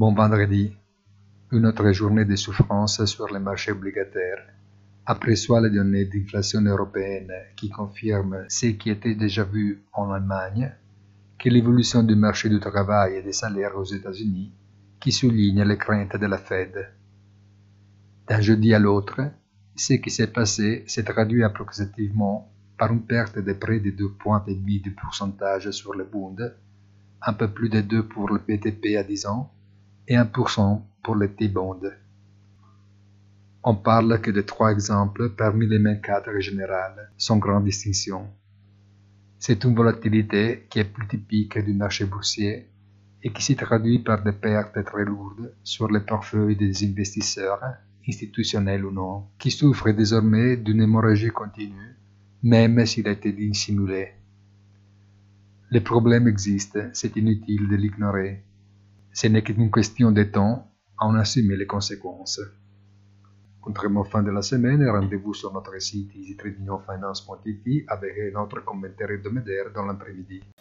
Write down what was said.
Bon vendredi, une autre journée de souffrance sur les marchés obligataires. Après soit les données d'inflation européenne qui confirment ce qui était déjà vu en Allemagne, que l'évolution du marché du travail et des salaires aux États-Unis qui souligne les craintes de la Fed. D'un jeudi à l'autre, ce qui s'est passé s'est traduit approximativement par une perte de près de 2,5 points de pourcentage sur le Bund, un peu plus de 2 pour le BTP à 10 ans et 1% pour le T-Bond. On parle que de 3 exemples parmi les mêmes cadres généraux, sans grande distinction. C'est une volatilité qui est plus typique du marché boursier et qui se traduit par des pertes très lourdes sur les portefeuilles des investisseurs, institutionnels ou non, qui souffrent désormais d'une hémorragie continue, même s'il a été dissimulé. Le problème existe, c'est inutile de l'ignorer. Ce n'est qu'une question de temps à en assumer les conséquences. Contrairement fin de la semaine, rendez-vous sur notre site easytradingfinance.it avec notre commentaire hebdomadaire dans l'après-midi.